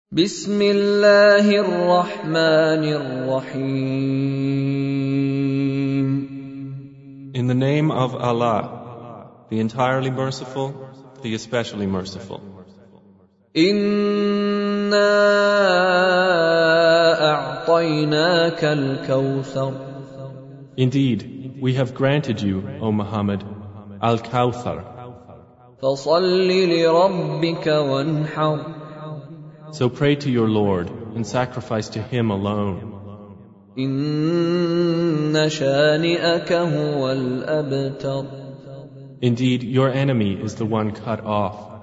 بسم الله الرحمن الرحيم. In the name of Allah, the entirely merciful, the especially merciful. إِنَّا أَعْطَيْنَاكَ الْكَوْثَرَ. Indeed, we have granted you, O Muhammad, Al-Kawthar. فَصَلِّ لِرَبِّكَ وَانْحَرْ. So pray to your Lord and sacrifice to Him alone. إِنَّ شَانِئَكَ هُوَ الْأَبْتَرُ. Indeed, your enemy is the one cut off.